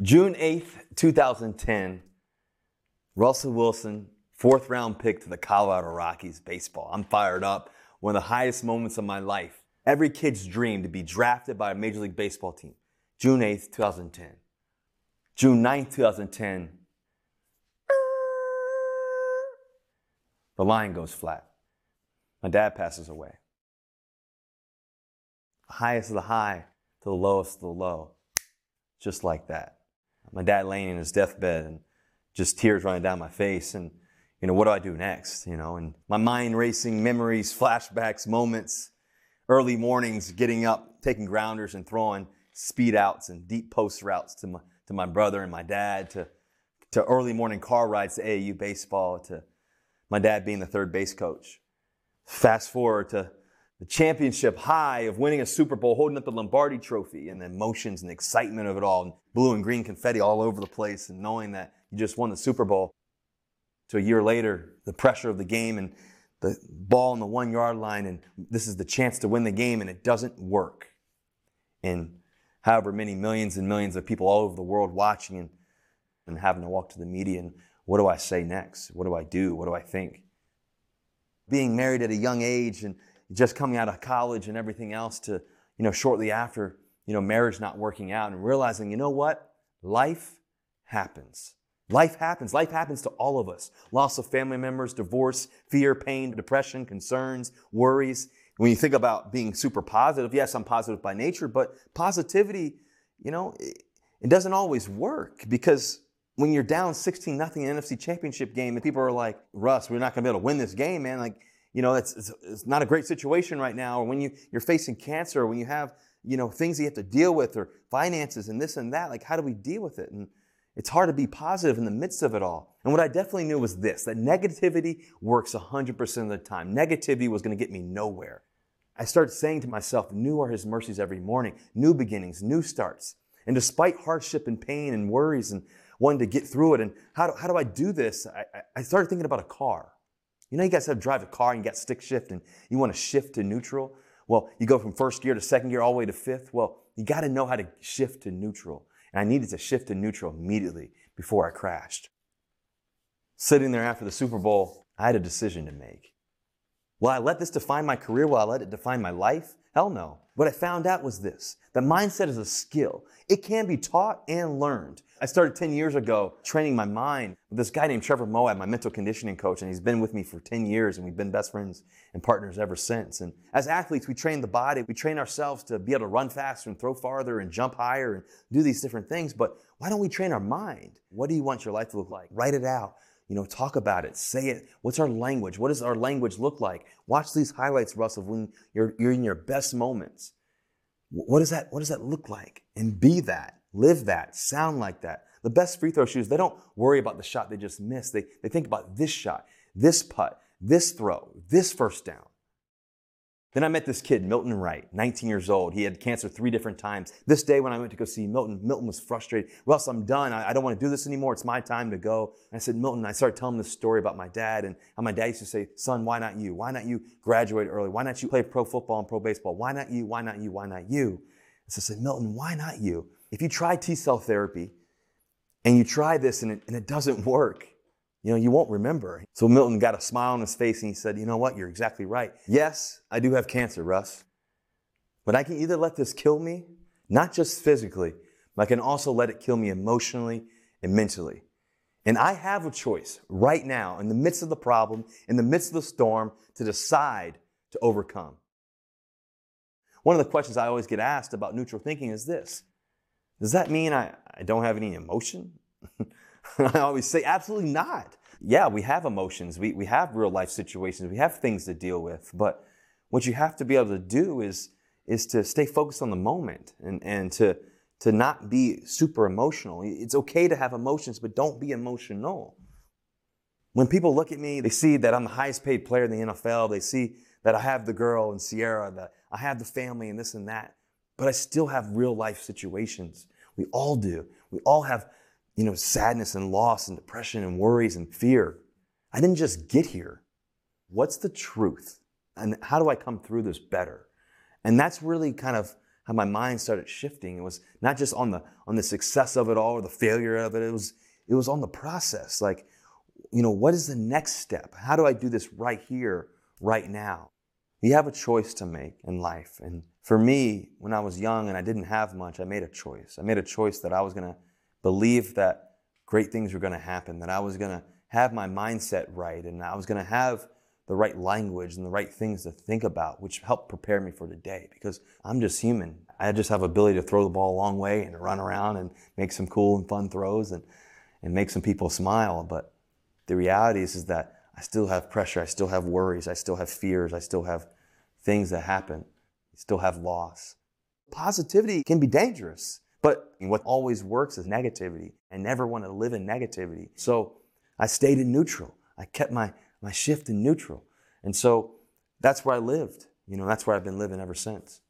June 8th, 2010, Russell Wilson, fourth round pick to the Colorado Rockies baseball. I'm fired up. One of the highest moments of my life. Every kid's dream to be drafted by a Major League Baseball team. June 8th, 2010. June 9th, 2010, the line goes flat. My dad passes away. The highest of the high to the lowest of the low. Just like that. My dad laying in his deathbed and just tears running down my face. And, what do I do next? And my mind racing memories, flashbacks, moments, early mornings, getting up, taking grounders and throwing speed outs and deep post routes to my brother and my dad, to early morning car rides to AAU baseball, to my dad being the third base coach. Fast forward to the championship high of winning a Super Bowl, holding up the Lombardi Trophy, and the emotions and the excitement of it all, and blue and green confetti all over the place, and knowing that you just won the Super Bowl. To a year later, the pressure of the game and the ball on the 1 yard line, and this is the chance to win the game, and it doesn't work. And however many millions and millions of people all over the world watching and having to walk to the media, and what do I say next? What do I do? What do I think? Being married at a young age and just coming out of college and everything else to, shortly after, marriage not working out, and realizing, what? Life happens. Life happens. Life happens to all of us. Loss of family members, divorce, fear, pain, depression, concerns, worries. When you think about being super positive, yes, I'm positive by nature, but positivity, it doesn't always work, because when you're down 16-0 in the NFC Championship game and people are like, Russ, we're not going to be able to win this game, man. It's not a great situation right now. Or when you're facing cancer, or when you have, things you have to deal with, or finances and this and that, how do we deal with it? And it's hard to be positive in the midst of it all. And what I definitely knew was this, that negativity works 100% of the time. Negativity was going to get me nowhere. I started saying to myself, new are his mercies every morning, new beginnings, new starts. And despite hardship and pain and worries and wanting to get through it, and how do I do this? I started thinking about a car. You guys have to drive a car and you got stick shift and you want to shift to neutral. Well, you go from first gear to second gear all the way to fifth. Well, you got to know how to shift to neutral. And I needed to shift to neutral immediately before I crashed. Sitting there after the Super Bowl, I had a decision to make. Will I let this define my career? Will I let it define my life? Hell no. What I found out was this, that mindset is a skill. It can be taught and learned. I started 10 years ago training my mind with this guy named Trevor Moab, my mental conditioning coach, and he's been with me for 10 years, and we've been best friends and partners ever since. And as athletes, we train the body, we train ourselves to be able to run faster and throw farther and jump higher and do these different things, but why don't we train our mind? What do you want your life to look like? Write it out. Talk about it, say it. What's our language? What does our language look like? Watch these highlights, Russell, when you're in your best moments. What does that look like? And be that, live that, sound like that. The best free throw shooters, they don't worry about the shot they just missed. They think about this shot, this putt, this throw, this first down. Then I met this kid, Milton Wright, 19 years old. He had cancer 3 different times. This day when I went to go see Milton was frustrated. Russ, I'm done. I don't want to do this anymore. It's my time to go. And I said, Milton, I started telling him this story about my dad and how my dad used to say, son, why not you? Why not you graduate early? Why not you play pro football and pro baseball? Why not you? Why not you? Why not you? So I said, Milton, why not you? If you try T-cell therapy and you try this and it doesn't work, you won't remember. So Milton got a smile on his face and he said, you know what? You're exactly right. Yes, I do have cancer, Russ. But I can either let this kill me, not just physically, but I can also let it kill me emotionally and mentally. And I have a choice right now, in the midst of the problem, in the midst of the storm, to decide to overcome. One of the questions I always get asked about neutral thinking is this. Does that mean I don't have any emotion? I always say, absolutely not. Yeah, we have emotions. We have real life situations. We have things to deal with. But what you have to be able to do is to stay focused on the moment and to not be super emotional. It's okay to have emotions, but don't be emotional. When people look at me, they see that I'm the highest paid player in the NFL. They see that I have the girl and Sierra, that I have the family and this and that. But I still have real life situations. We all do. We all have sadness and loss and depression and worries and fear. I didn't just get here. What's the truth? And how do I come through this better? And that's really kind of how my mind started shifting. It was not just on the success of it all or the failure of it. It was on the process. Like, what is the next step? How do I do this right here, right now? You have a choice to make in life. And for me, when I was young and I didn't have much, I made a choice. I made a choice that I was going to believe that great things were going to happen, that I was going to have my mindset right, and I was going to have the right language and the right things to think about, which helped prepare me for today, because I'm just human. I just have ability to throw the ball a long way and to run around and make some cool and fun throws and make some people smile. But the reality is that I still have pressure. I still have worries. I still have fears. I still have things that happen. I still have loss. Positivity can be dangerous, but what always works is negativity. I never want to live in negativity. So I stayed in neutral. I kept my shift in neutral. And so that's where I lived. That's where I've been living ever since.